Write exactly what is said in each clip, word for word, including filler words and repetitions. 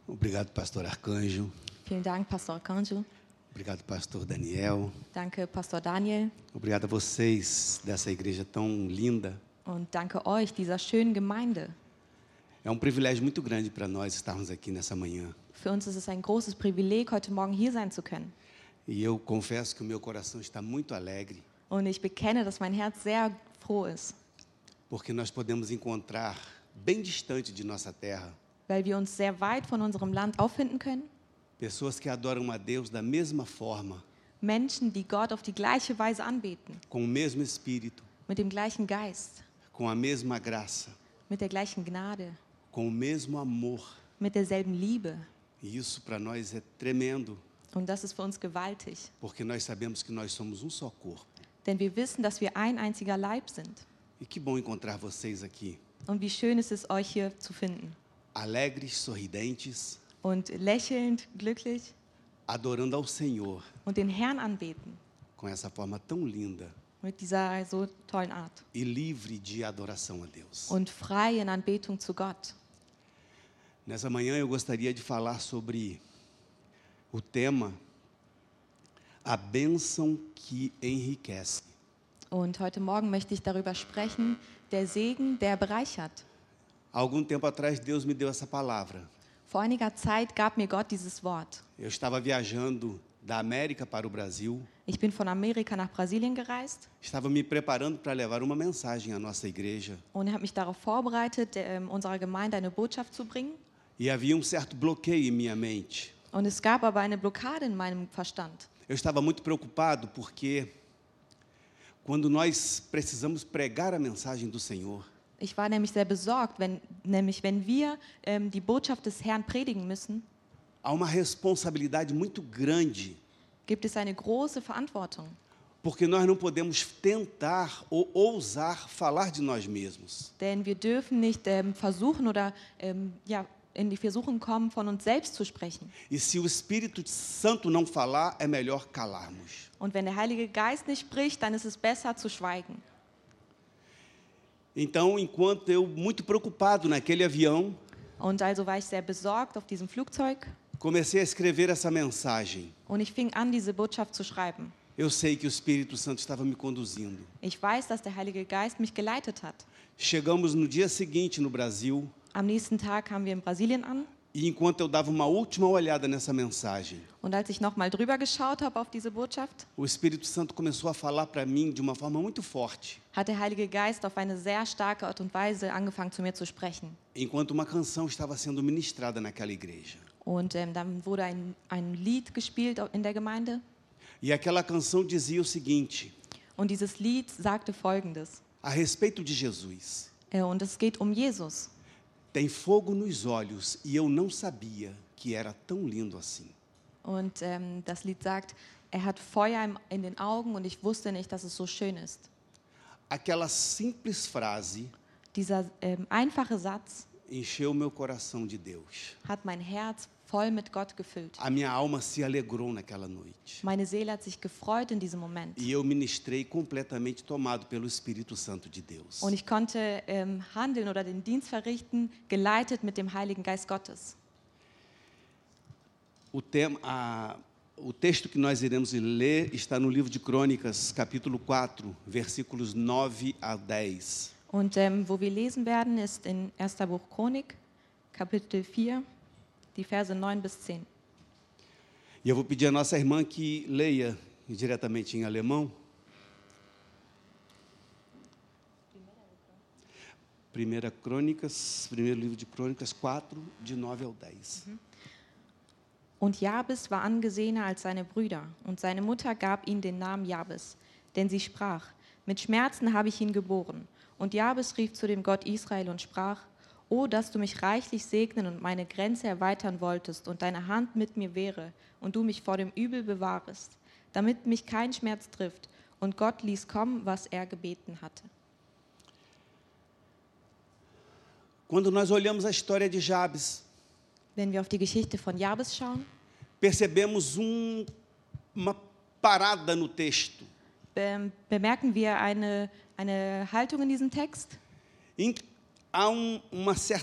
Obrigado, pastor Arcanjo. Vielen Dank, Pastor Arcanjo. Obrigado, pastor Daniel. Danke, Pastor Daniel. Obrigado a vocês dessa igreja tão linda. Und danke euch, dieser schönen Gemeinde. É um privilégio muito grande para nós estarmos aqui nessa manhã. Für uns ist es ein großes Privileg, heute Morgen hier sein zu können. E eu confesso que o meu coração está muito alegre, Und ich bekenne, dass mein Herz sehr froh ist, porque nós podemos encontrar bem distante de nossa terra weil wir uns sehr weit von unserem Land auffinden können. pessoas que adoram a Deus da mesma forma, Menschen, die Gott auf die gleiche Weise anbeten, com o mesmo espírito, mit dem gleichen Geist, com a mesma graça, mit der gleichen Gnade, com o mesmo amor. mit derselben Liebe. E isso para nós é tremendo, Und das ist für uns gewaltig, porque nós sabemos que nós somos um só corpo. denn wir wissen, dass wir ein einziger Leib sind. E que bom encontrar vocês aqui, Und wie schön ist es, euch hier zu finden. alegres, sorridentes, Und lächelnd, glücklich adorando ao Senhor und den Herrn anbeten. com essa forma tão linda Mit dieser so tollen Art. e livre de adoração a Deus. Und frei in Anbetung zu Gott. Nessa manhã eu gostaria de falar sobre o tema A Bênção que Enriquece. Und heute Morgen möchte ich darüber sprechen, der Segen, der bereichert. Há algum tempo atrás Deus me deu essa palavra. Vor einiger Zeit gab mir Gott dieses Wort. Eu estava viajando da América para o Brasil, Ich bin von Amerika nach Brasilien gereist estava me preparando para levar uma mensagem à nossa igreja und habe mich darauf vorbereitet, ähm, unserer Gemeinde eine Botschaft zu bringen. e havia um certo bloqueio em minha mente. Und es gab aber eine Blockade in meinem Verstand. Eu estava muito preocupado porque quando nós precisamos pregar a mensagem do Senhor, Ich war nämlich sehr besorgt, wenn, nämlich wenn wir ähm, die Botschaft des Herrn predigen müssen, há uma responsabilidade muito grande, gibt es eine große Verantwortung. porque nós não podemos tentar ou ousar falar de nós mesmos. Denn wir dürfen nicht ähm, versuchen oder ähm, ja, in die Versuchung kommen, von uns selbst zu sprechen. E se o Espírito Santo não falar, é melhor calarmos. Und wenn der Heilige Geist nicht spricht, dann ist es besser zu schweigen. Então, enquanto eu, muito preocupado naquele avião, Und also war ich sehr besorgt auf diesem Flugzeug comecei a escrever essa mensagem. und ich fing an, diese Botschaft zu schreiben. Eu sei que o Espírito Santo estava me conduzindo. Ich weiß, dass der Heilige Geist mich geleitet hat. Chegamos no dia seguinte no Brasil, Am nächsten Tag kamen wir in Brasilien an e enquanto eu dava uma última olhada nessa mensagem, und als ich nochmal drüber geschaut habe auf diese Botschaft, o Espírito Santo começou a falar para mim de uma forma muito forte, hat der Heilige Geist auf eine sehr starke Art und Weise angefangen, zu mir zu sprechen. enquanto uma canção estava sendo ministrada naquela igreja. Und ähm, dann wurde ein, ein Lied gespielt in der Gemeinde. E aquela canção dizia o seguinte, Und dieses Lied sagte Folgendes. a respeito de Jesus: Äh, und es geht um Jesus. tem fogo nos olhos e eu não sabia que era tão lindo assim. Und ähm, das Lied sagt, er hat Feuer im, in den Augen und ich wusste nicht, dass es so schön ist. Aquela simples frase Dieser ähm, einfache Satz encheu meu coração de Deus. hat mein Herz voll mit Gott gefüllt. A minha alma se alegrou naquela noite. Meine Seele hat sich gefreut in diesem Moment. E eu ministrei completamente tomado pelo Espírito Santo de Deus. Und ich konnte ähm, handeln oder den Dienst verrichten, geleitet mit dem Heiligen Geist Gottes. O, tema, a, o texto que nós iremos ler está no livro de Crônicas, capítulo quatro, versículos nove a dez. Und ähm, wo wir lesen werden, ist in erster Buch Chronik, Kapitel vier, die Verse neun bis zehn. E eu vou pedir à nossa irmã que leia diretamente em alemão. Primeira Crônicas, primeiro livro de Crônicas, quatro, de nove ao dez. Und Jabes war angesehener als seine Brüder, und seine Mutter gab ihm den Namen Jabes, denn sie sprach, mit Schmerzen habe ich ihn geboren. Und Jabes rief zu dem Gott Israel und sprach, O, dass du mich reichlich segnen und meine Grenze erweitern wolltest und deine Hand mit mir wäre und du mich vor dem Übel bewahrest, damit mich kein Schmerz trifft. Und Gott ließ kommen, was er gebeten hatte. Quando nós olhamos a história de Jabes, Wenn wir auf die Geschichte von Jabes schauen, percebemos um, uma parada no texto, be- bemerken wir eine, eine Haltung in diesem Text. em, há um, uma certa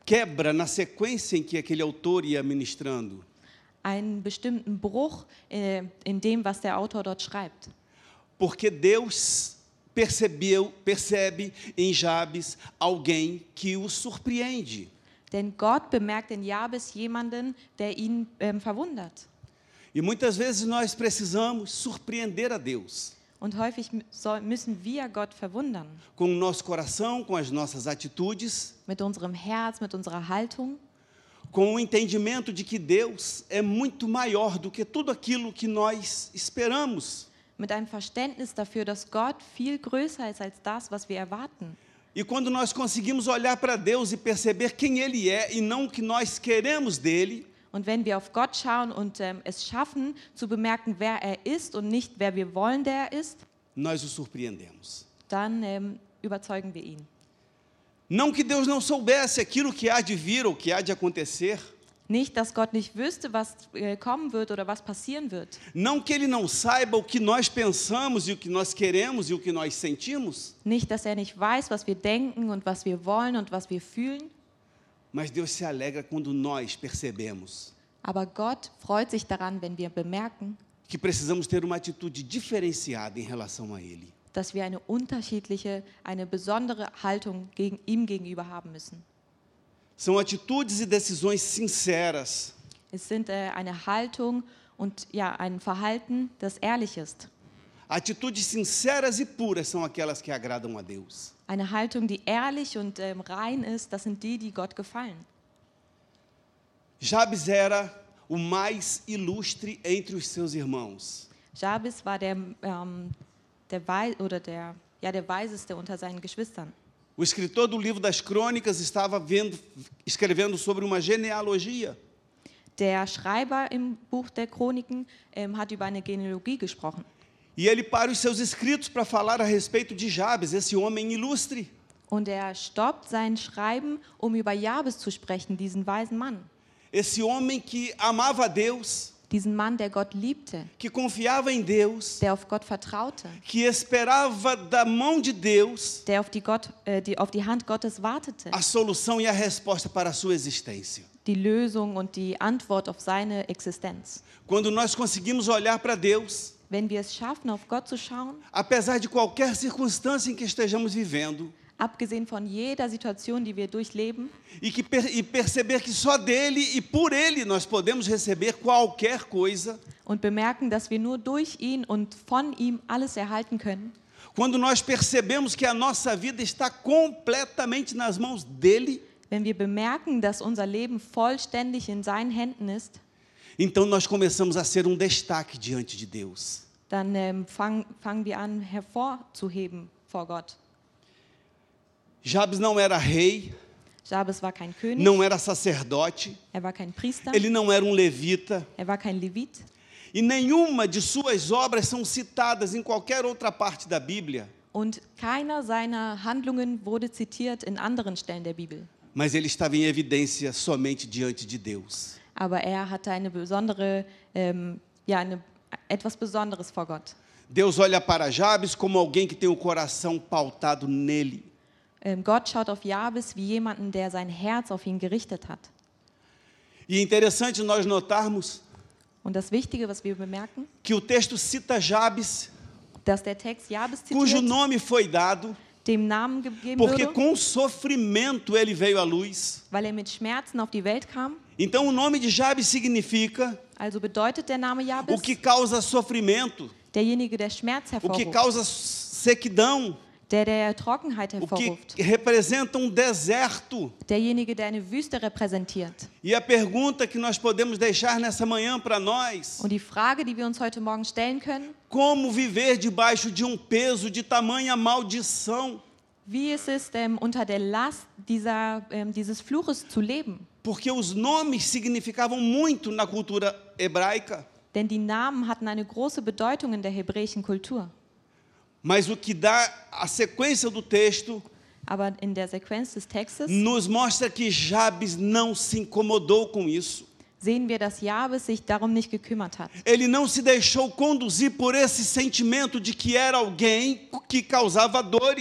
quebra na sequência em que aquele autor ia ministrando. einen bestimmten Bruch äh, in dem, was der Autor dort schreibt. Porque Deus percebeu, percebe em Jabes alguém que o surpreende. Denn Gott bemerkt in Jabes jemanden, der ihn ähm, verwundert. E muitas vezes nós precisamos surpreender a Deus Und häufig m- soll, müssen wir Gott verwundern. com o nosso coração, com as nossas atitudes, Mit unserem Herz, mit unserer Haltung. com o entendimento de que Deus é muito maior do que tudo aquilo que nós esperamos. Mit einem Verständnis dafür, dass Gott viel größer ist als das, was wir erwarten. E quando nós conseguimos olhar para Deus e perceber quem Ele é e não o que nós queremos dele, Und wenn wir auf Gott schauen und ähm, es schaffen, zu bemerken, wer er ist und nicht, wer wir wollen, der er ist, nós o surpreendemos. dann ähm, überzeugen wir ihn. Não que Deus não soubesse aquilo que há de vir ou que há de acontecer, Nicht, dass Gott nicht wüsste, was äh, kommen wird oder was passieren wird. não que Ele não saiba o que nós pensamos e o que nós queremos e o que nós sentimos, Nicht, dass er nicht weiß, was wir denken und was wir wollen und was wir fühlen. mas Deus se alegra quando nós percebemos Aber Gott freut sich daran, wenn wir bemerken, que precisamos ter uma atitude diferenciada em relação a Ele. dass wir eine unterschiedliche, eine besondere Haltung gegen, ihm gegenüber haben müssen. São atitudes e decisões sinceras, Es sind äh, eine Haltung und ja, ein Verhalten, das ehrlich ist. atitudes sinceras e puras são aquelas que agradam a Deus. Eine Haltung, die ehrlich und ähm, rein ist, das sind die, die Gott gefallen. Jabes era o mais ilustre entre os seus irmãos. Jabes war der, ähm, der, Wei oder der, ja, der Weiseste unter seinen Geschwistern. O escritor do livro das Crônicas estava vendo, escrevendo sobre uma genealogia. Der Schreiber im Buch der Chroniken ähm, hat über eine Genealogie gesprochen. E ele para os seus escritos para falar a respeito de Jabes, esse homem ilustre. Und er stoppt sein Schreiben, um über Jabes zu sprechen, diesen weisen Mann. Esse homem que amava a Deus, Diesen Mann, der Gott liebte, que confiava em Deus, der auf Gott vertraute, que esperava da mão de Deus der auf die, Gott, äh, die, auf die Hand Gottes wartete, a solução e a resposta para a sua existência. die Lösung und die Antwort auf seine Existenz. Quando nós conseguimos olhar para Deus, Wenn wir es schaffen, auf Gott zu schauen, apesar de qualquer circunstância em que estejamos vivendo, abgesehen von jeder Situation, die wir durchleben, e, que per, e perceber que só dele e por ele nós podemos receber qualquer coisa, und bemerken, dass wir nur durch ihn und von ihm alles erhalten können, quando nós percebemos que a nossa vida está completamente nas mãos dele, wenn wir bemerken, dass unser Leben vollständig in seinen Händen ist, então nós começamos a ser um destaque diante de Deus. dann ähm, fang, fangen wir an, hervorzuheben vor Gott. Jabes não era rei, Jabes war kein König, não era sacerdote, er war kein Priester, ele não era um levita, er war kein Levit. e nenhuma de suas obras são citadas em qualquer outra parte da Bíblia, Und keiner seiner Handlungen wurde zitiert in anderen Stellen der Bibel. mas ele estava em evidência somente diante de Deus. Aber er hatte eine besondere, ähm, ja, eine, etwas Besonderes vor Gott. Deus olha para Jabes como alguém que tem o coração pautado nele. Ähm, Gott schaut auf Jabes wie jemanden, der sein Herz auf ihn gerichtet hat. E é interessante nós notarmos Und das Wichtige, was wir bemerken, que o texto cita Jabes, dass der Text Jabes cujo zitiert, nome foi dado, dem Namen gegeben porque wurde, com sofrimento ele veio à luz. weil er mit Schmerzen auf die Welt kam. Então o nome de Jabes significa Also bedeutet der Name o Jabes, que causa sofrimento, derjenige, der Schmerz o que hervorruft, causa sequidão, der der Trockenheit o hervorruft, que representa um deserto. derjenige, der eine Wüste repräsentiert. E a pergunta que nós podemos deixar nessa manhã para nós: Und die Frage, die wir uns heute Morgen stellen können, como viver debaixo de um peso de tamanha maldição? wie ist es ähm, unter der Last dieser, ähm, dieses Fluches zu leben? Porque os nomes significavam muito na cultura hebraica, Denn die Namen hatten eine große Bedeutung in der hebräischen Kultur. mas o que dá a sequência do texto Aber in der Sequenz des Textes nos mostra que Jabes não se incomodou com isso. sehen wir, dass Jabes sich darum nicht gekümmert hat. Ele não se deixou conduzir por esse sentimento de que era alguém que causava dores.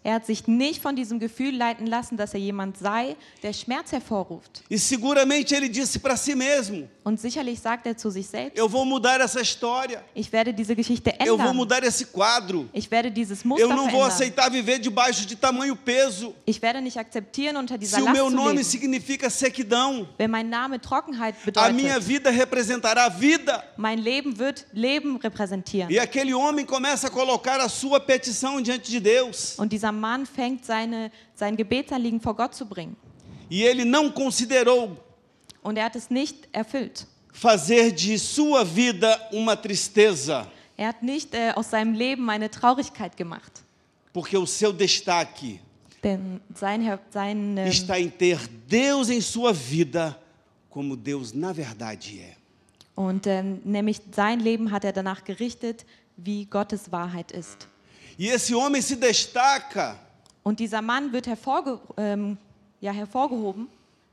Er hat sich nicht von diesem Gefühl leiten lassen, dass er jemand sei, der Schmerz hervorruft. E seguramente ele disse para si mesmo: Und sicherlich sagt er zu sich selbst, eu vou mudar essa história, ich werde diese Geschichte eu vou ändern. mudar esse quadro, Ich werde dieses Muster eu não vou verändern. aceitar viver debaixo de tamanho peso. Ich werde nicht akzeptieren, unter dieser Se o Last meu zu nome leben. significa sequidão, Wenn mein Name Trockenheit a minha bedeutet, vida representará vida. mein Leben wird Leben repräsentieren. E aquele homem começa a colocar a sua petição diante de Deus. Und dieser Mann fängt seine, sein Gebetsanliegen vor Gott zu bringen. E ele não considerou Und er hat es nicht erfüllt. fazer de sua vida uma tristeza, Er hat nicht äh, aus seinem Leben eine Traurigkeit gemacht. porque o seu destaque Denn sein, Herr- sein, ähm, está em ter Deus em sua vida como Deus na verdade é. und ähm, nämlich sein Leben hat er danach gerichtet, wie Gottes Wahrheit ist. E esse homem se destaca Und dieser Mann wird hervorge ähm, ja, hervorgehoben,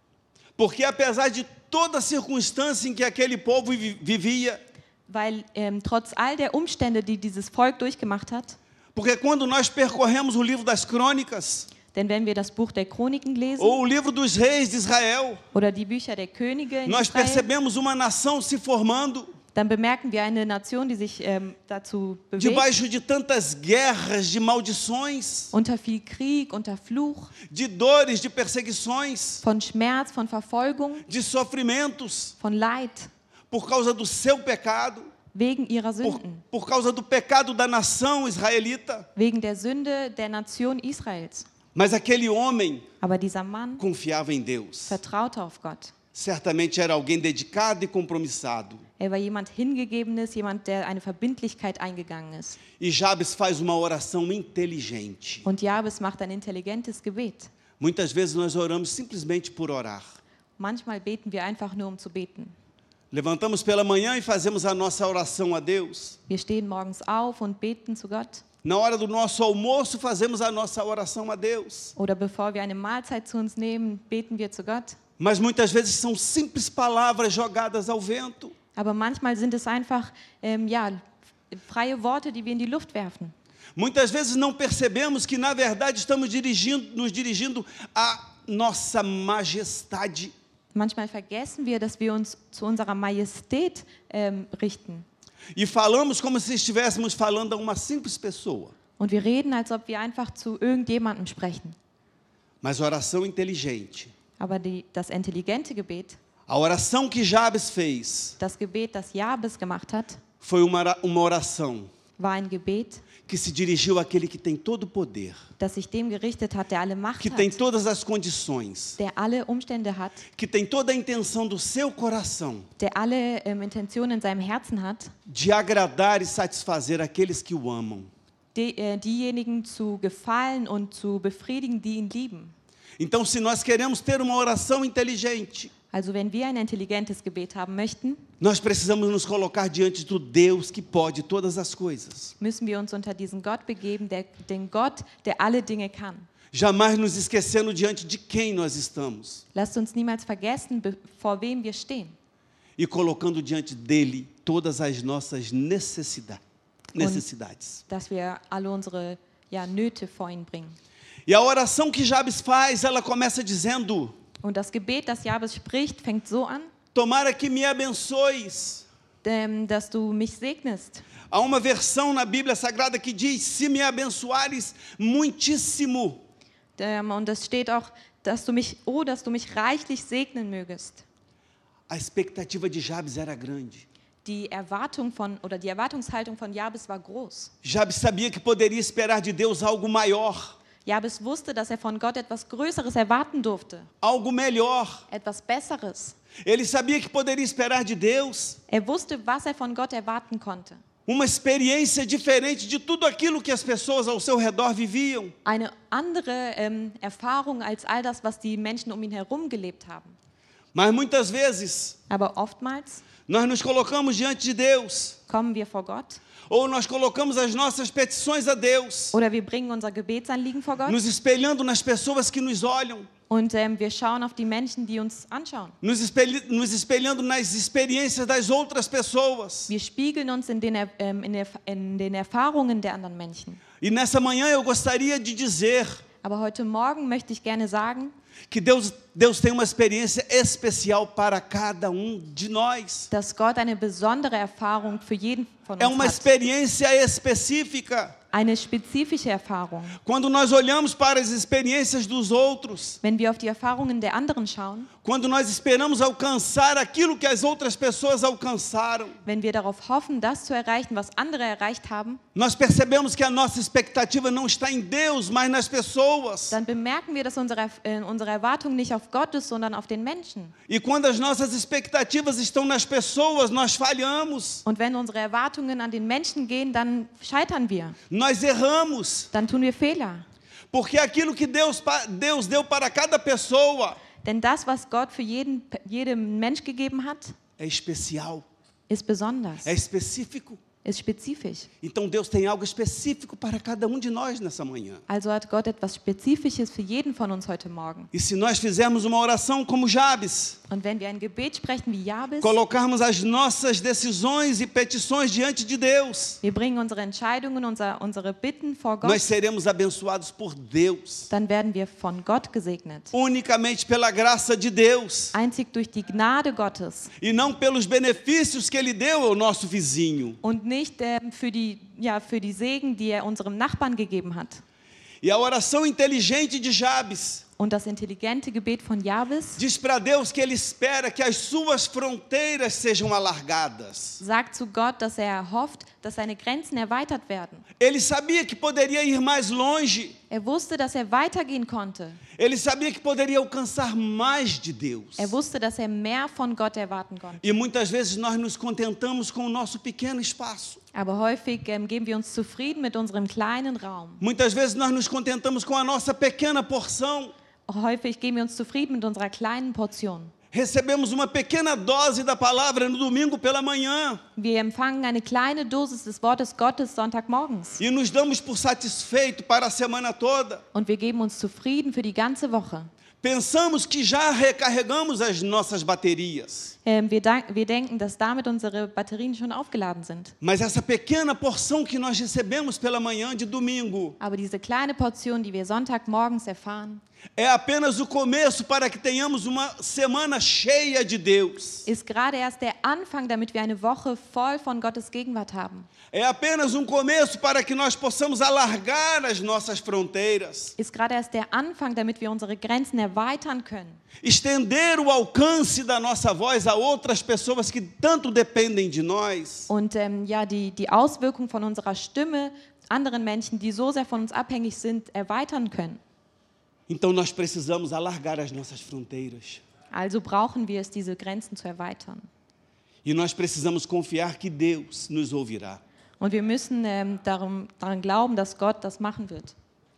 porque apesar de toda a circunstância em que aquele povo vi- vivia, weil ähm, trotz all der Umstände, die dieses Volk durchgemacht hat, porque quando nós percorremos o livro das crônicas, denn wenn wir das Buch der Chroniken lesen ou o livro dos reis de Israel, oder die Bücher der Könige in nós Israel, percebemos uma nação se formando dann bemerken wir eine Nation, die sich ähm, dazu bewegt, debaixo de tantas guerras, de maldições, unter viel Krieg, unter Fluch, de dores, de perseguições, von Schmerz, von Verfolgung, de sofrimentos, von Leid, por causa do seu pecado, wegen ihrer por, Sünden, por causa do pecado da nação israelita. wegen der Sünde der Nation Israels. Mas aquele homem Aber dieser Mann confiava em Deus. vertraute auf Gott. Certamente era alguém dedicado e compromissado. Er war jemand Hingegebenes, jemand, der eine Verbindlichkeit eingegangen ist. E Jabes faz uma oração inteligente. Und Jabes macht ein intelligentes Gebet. Muitas vezes nós oramos simplesmente por orar. Manchmal beten wir einfach nur, um zu beten. Levantamos pela manhã e fazemos a nossa oração a Deus. Wir stehen morgens auf und beten zu Gott. Na hora do nosso almoço, fazemos a nossa oração a Deus. Oder bevor wir eine Mahlzeit zu uns nehmen, beten wir zu Gott. Mas muitas vezes são simples palavras jogadas ao vento. Aber manchmal sind es einfach ähm, ja, freie Worte, die wir in die Luft werfen. Muitas vezes não percebemos que, na verdade, estamos dirigindo, nos dirigindo à nossa majestade. Manchmal vergessen wir, dass wir uns zu unserer Majestät ähm, richten. E falamos como se estivéssemos falando a uma simples pessoa. Und wir reden, als ob wir einfach zu irgendjemandem sprechen. Mas oração inteligente. Aber die, das intelligente Gebet, A oração que Jabes fez das Gebet, das Jabes gemacht hat, foi uma ora- uma oração war ein Gebet, que se dirigiu àquele que tem todo o poder, das sich dem gerichtet hat, der alle Macht que tem hat, todas as condições, der alle Umstände hat, que tem toda a intenção do seu coração der alle ähm, Intentionen in seinem Herzen hat, de agradar e satisfazer aqueles que o amam. die, äh, diejenigen zu gefallen und zu befriedigen, die ihn lieben. Então, se nós queremos ter uma oração inteligente, Also wenn wir ein intelligentes Gebet haben möchten, nós precisamos nos colocar diante do Deus que pode todas as coisas. müssen wir uns unter diesen Gott begeben, der, den Gott, der alle Dinge kann. Jamais nos esquecendo diante de quem nós estamos Lasst uns niemals vergessen, be- vor wem wir stehen. e colocando diante dele todas as nossas necessida- necessidades. Dass wir alle unsere ja, Nöte vor ihn bringen. E a oração que Jabes faz, ela começa dizendo: Und das Gebet, das Jabes spricht, fängt so an, tomara que me abençoes. ähm, dass du mich segnest. Há uma versão na Bíblia Sagrada que diz: se me abençoares muitíssimo. Ähm, und es steht auch, dass du mich, oh, dass du mich reichlich segnen mögest. A expectativa de Jabes era grande. Die Erwartung von, oder die Erwartungshaltung von Jabes war groß. Jabes sabia que poderia esperar de Deus algo maior, Jabes wusste, dass er von Gott etwas Größeres erwarten durfte, algo melhor. etwas Besseres. Ele sabia que poderia esperar de Deus Er wusste, was er von Gott erwarten konnte. uma experiência diferente de tudo aquilo que as pessoas ao seu redor viviam. Eine andere ähm, Erfahrung als all das, was die Menschen um ihn herum gelebt haben. Mas muitas vezes Aber oftmals nós nos colocamos diante de Deus, kommen wir vor Gott ou nós colocamos as nossas petições a Deus, oder wir bringen unser Gebetsanliegen vor Gott nos espelhando nas pessoas que nos olham, und ähm, wir schauen auf die Menschen, die uns anschauen. nos, espelhi- nos espelhando nas experiências das outras pessoas. Wir spiegeln uns in den, Er- ähm, in, der, in den Erfahrungen der anderen Menschen. E nessa manhã eu gostaria de dizer Aber heute Morgen möchte ich gerne sagen, que Deus, Deus tem uma experiência especial para cada um de nós. dass Gott eine besondere Erfahrung für jeden von É uns uma hat. experiência específica. Eine spezifische Erfahrung. Quando nós olhamos para as experiências dos outros, Wenn wir auf die Erfahrungen der anderen schauen, quando nós esperamos alcançar aquilo que as outras pessoas alcançaram, wenn wir darauf hoffen, das zu erreichen, was andere erreicht haben, nós percebemos que a nossa expectativa não está em Deus, mas nas pessoas. dann bemerken wir, dass unsere, äh, unsere Erwartung nicht auf Gott ist, sondern auf den Menschen. E quando as nossas expectativas estão nas pessoas, nós falhamos, Und wenn unsere Erwartungen an den Menschen gehen, dann scheitern wir. nós erramos, Dann tun wir Fehler. porque aquilo que Deus, pa- Deus deu para cada pessoa Denn das, was Gott für jeden, jedem Mensch gegeben hat, é especial, ist besonders, é específico. ist spezifisch. Então Deus tem algo específico para cada um de nós nessa manhã. Also hat Gott etwas Spezifisches für jeden von uns heute Morgen. E se nós fizermos uma oração como Jabes, Und wenn wir ein Gebet sprechen wie Jabes, colocarmos as nossas decisões e petições diante de Deus, wir bringen unsere Entscheidungen, unser, unsere Bitten vor Gott, nós seremos abençoados por Deus, dann werden wir von Gott gesegnet. unicamente pela graça de Deus, Einzig durch die Gnade Gottes e não pelos benefícios que Ele deu ao nosso vizinho. und nicht ähm, für, die, ja, für die Segen, die er unserem Nachbarn gegeben hat. E a oração inteligente de Jabes Und das intelligente Gebet von Jabes diz para Deus que ele espera que as suas fronteiras sejam alargadas. sagt zu Gott, dass er hofft, dass seine Grenzen erweitert werden. Ele sabia que poderia ir mais longe. Er wusste, dass er weitergehen konnte. Ele sabia que poderia alcançar mais de Deus. Er wusste, dass er mehr von Gott erwarten konnte. E muitas vezes nós nos contentamos com o nosso pequeno espaço. Aber häufig ähm, geben wir uns zufrieden mit unserem kleinen Raum. Muitas vezes nós nos contentamos com a nossa pequena porção. Häufig geben wir uns zufrieden mit unserer kleinen Portion. Recebemos uma pequena dose da palavra no domingo pela manhã Wir empfangen eine kleine Dosis des Wortes Gottes Sonntagmorgens. e nos damos por satisfeito para a semana toda. Und wir geben uns zufrieden für die ganze Woche. Pensamos que já recarregamos as nossas baterias. Ähm, wir, dank- wir denken, dass damit unsere Batterien schon aufgeladen sind. Mas essa pequena porção que nós recebemos pela manhã de domingo Aber diese kleine Portion, die wir Sonntagmorgens erfahren, é apenas o começo para que tenhamos uma semana cheia de Deus. ist gerade erst der Anfang, damit wir eine Woche voll von Gottes Gegenwart haben. É apenas um começo para que nós possamos alargar as nossas fronteiras, Ist gerade erst der Anfang, damit wir unsere Grenzen erweitern können. estender o alcance da nossa voz a outras pessoas que tanto dependem de nós. Und ähm, ja, die, die Auswirkung von unserer Stimme anderen Menschen, die so sehr von uns abhängig sind, erweitern können. Então nós precisamos alargar as nossas fronteiras. Also brauchen wir es, diese Grenzen zu erweitern. E nós precisamos confiar que Deus nos ouvirá. Und wir müssen ähm, darum, daran glauben, dass Gott das machen wird.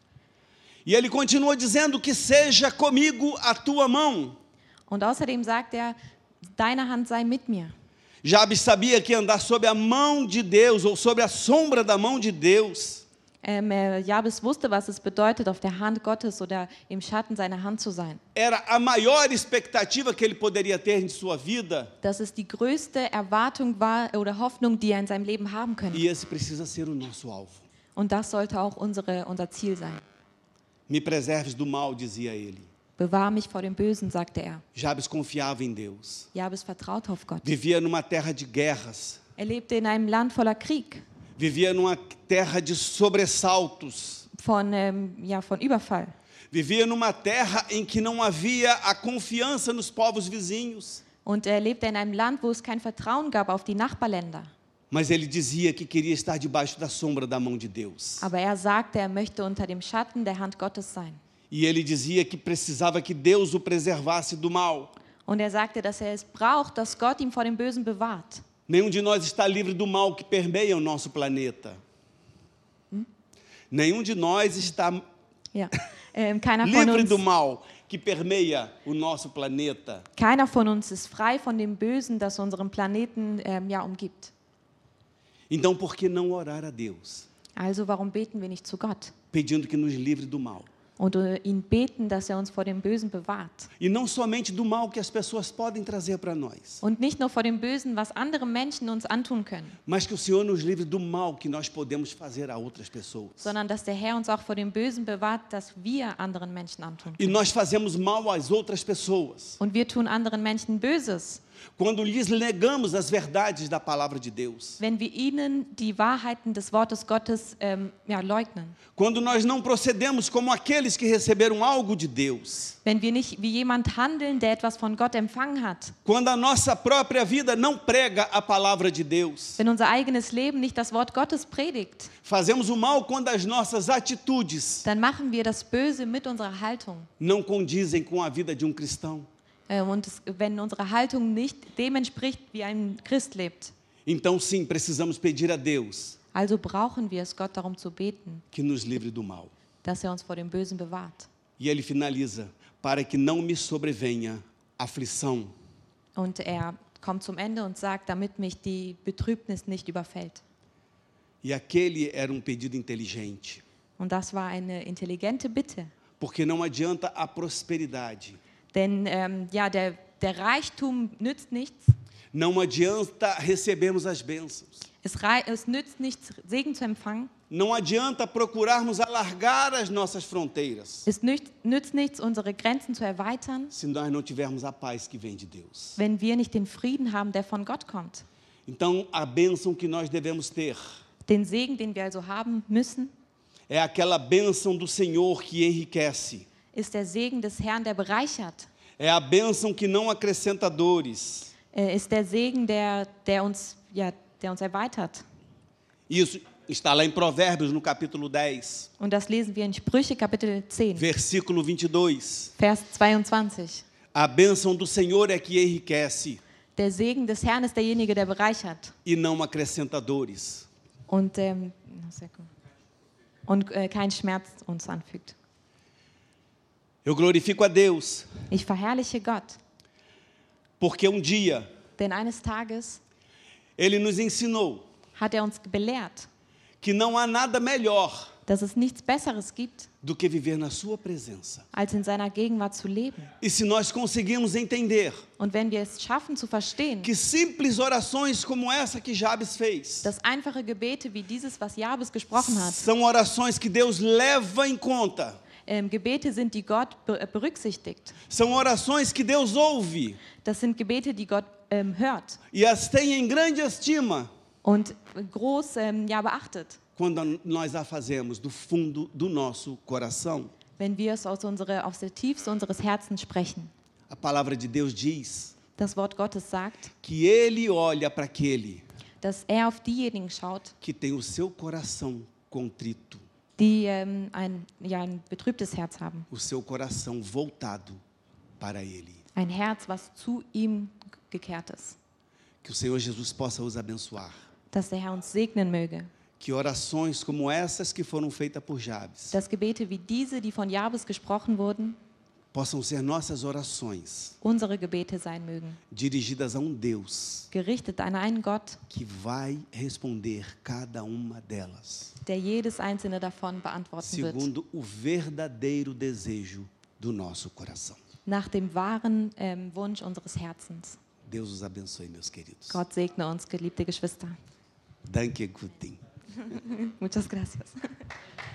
E ele continua dizendo que seja comigo a tua mão. Und außerdem sagt er, deine Hand sei mit mir. Jabes sabia que andar sob a mão de Deus ou sob a sombra da mão de Deus Ähm, äh, Jabes wusste, was es bedeutet, auf der Hand Gottes oder im Schatten seiner Hand zu sein. era a maior expectativa que ele poderia ter em sua vida. Dass es die größte Erwartung war oder Hoffnung, die er in seinem Leben haben könnte. E esse precisa ser o nosso alvo. Und das sollte auch unsere, unser Ziel sein. Me preserves do mal, dizia ele. Bewahre mich vor dem Bösen, sagte er. Jabes confiava em Deus. Jabes vertraute auf Gott. Vivia numa terra de guerras. Er lebte in einem Land voller Krieg, Vivia numa terra de sobressaltos. von, ähm, ja, von Überfall. Vivia numa terra em que não havia a confiança nos povos vizinhos. Und er lebte in einem Land, wo es kein Vertrauen gab auf die Nachbarländer. Mas ele dizia que queria estar debaixo da sombra da mão de Deus. Aber er sagte, er möchte unter dem Schatten der Hand Gottes sein. E ele dizia que precisava que Deus o preservasse do mal. Und er sagte, dass er es braucht, dass Gott ihn vor dem Bösen bewahrt. Nenhum de nós está livre do mal que permeia o nosso planeta. Nenhum de nós está Ja. Ähm, keiner von livre uns do mal que permeia o nosso planeta. Keiner von uns ist frei von dem Bösen, das unseren Planeten ähm, ja, umgibt. Então, por que não orar a Deus, Also warum beten wir nicht zu Gott pedindo que nos livre do mal? und äh, ihn beten, dass er uns vor dem Bösen bewahrt? E não somente do mal que as pessoas podem trazer para nós, Und nicht nur vor dem Bösen, was andere Menschen uns antun können, mas que o Senhor nos livre do mal que nós podemos fazer a outras pessoas. sondern dass der Herr uns auch vor dem Bösen bewahrt, das wir anderen Menschen antun E können. nós fazemos mal às outras pessoas Und wir tun anderen Menschen Böses, quando lhes negamos as verdades da palavra de Deus. wenn wir ihnen die Wahrheiten des Wortes Gottes ähm, ja, leugnen. Quando nós não procedemos como aqueles que receberam algo de Deus. Wenn wir nicht wie jemand handeln, der etwas von Gott empfangen hat. Quando a nossa própria vida não prega a palavra de Deus. Wenn unser eigenes Leben nicht das Wort Gottes predigt, Fazemos o mal quando as nossas atitudes dann machen wir das Böse mit unserer Haltung. não condizem com a vida de um cristão. Äh, Und es, wenn unsere Haltung nicht dem entspricht, wie ein Christ lebt. Então, sim, precisamos pedir a Deus Also brauchen wir es, Gott darum zu beten, que nos livre do mal. dass er uns vor dem Bösen bewahrt. E ele finaliza: para que não me sobrevenha aflição. Und er kommt zum Ende und sagt, damit mich die Betrübnis nicht überfällt. E aquele era um pedido inteligente, Und das war eine intelligente Bitte. porque não adianta a prosperidade, Denn ähm, ja, der, der Reichtum nützt nichts. não adianta recebermos as bênçãos, Es, rei- es nützt nichts, Segen zu empfangen. não adianta procurarmos alargar as nossas fronteiras, Es nützt, nützt nichts, unsere Grenzen zu erweitern, se nós não tivermos a paz que vem de Deus. wenn wir nicht den Frieden haben, der von Gott kommt. Então, a bênção que nós devemos ter Den Segen, den wir also haben müssen, é aquela bênção do Senhor que enriquece, ist der Segen des Herrn, der bereichert. é a bênção que não acrescenta dores. Äh, ist der Segen, der, der, uns, ja, der uns erweitert. Isso está lá em Provérbios, no capítulo dez, Und das lesen wir in Sprüche, Kapitel zehn, versículo vinte e dois. Vers zweiundzwanzig. A bênção do Senhor é que enriquece Der Segen des Herrn ist derjenige, der bereichert e não acrescenta dores. und, ähm, sehr gut. und äh, keinen Schmerz uns anfügt. Eu glorifico a Deus, Ich verherrliche Gott, porque um dia denn eines Tages Ele nos ensinou hat er uns belehrt, que não há nada melhor dass es nichts Besseres gibt, do que viver na Sua presença. als in seiner Gegenwart zu leben. E se nós conseguirmos entender Und wenn wir es schaffen zu verstehen, que simples orações como essa que Jabes fez dass einfache Gebete wie dieses, was Jabes gesprochen hat, são orações que Deus leva em conta, ähm, Gebete sind, die Gott be- berücksichtigt. são orações que Deus ouve Das sind Gebete, die Gott ähm, hört e as tem em grande estima und groß ähm, ja, beachtet, quando nós a fazemos do fundo do nosso coração. wenn wir es aus, unsere, aus der Tiefste unseres Herzens sprechen. A palavra de Deus diz Das Wort Gottes sagt, que Ele olha para aquele dass er auf diejenigen schaut, que tem o seu coração contrito, die ähm, ein, ja, ein betrübtes Herz haben. o seu coração voltado para Ele. Ein Herz, was zu ihm gekehrt ist. Que o Senhor Jesus possa os abençoar. Dass der Herr uns segnen möge. Que orações como essas que foram feitas por Jabes Dass Gebete wie diese, die von Jabes gesprochen wurden, possam ser nossas orações, unsere Gebete sein mögen. dirigidas a um Deus Gerichtet an einen Gott, que vai responder cada uma delas, der jedes einzelne davon beantworten wird. segundo o verdadeiro desejo do nosso coração. Nach dem wahren ähm, Wunsch unseres Herzens. Deus os abençoe, meus queridos. Gott segne uns, geliebte Geschwister. Danke, Gutin. Muchas gracias.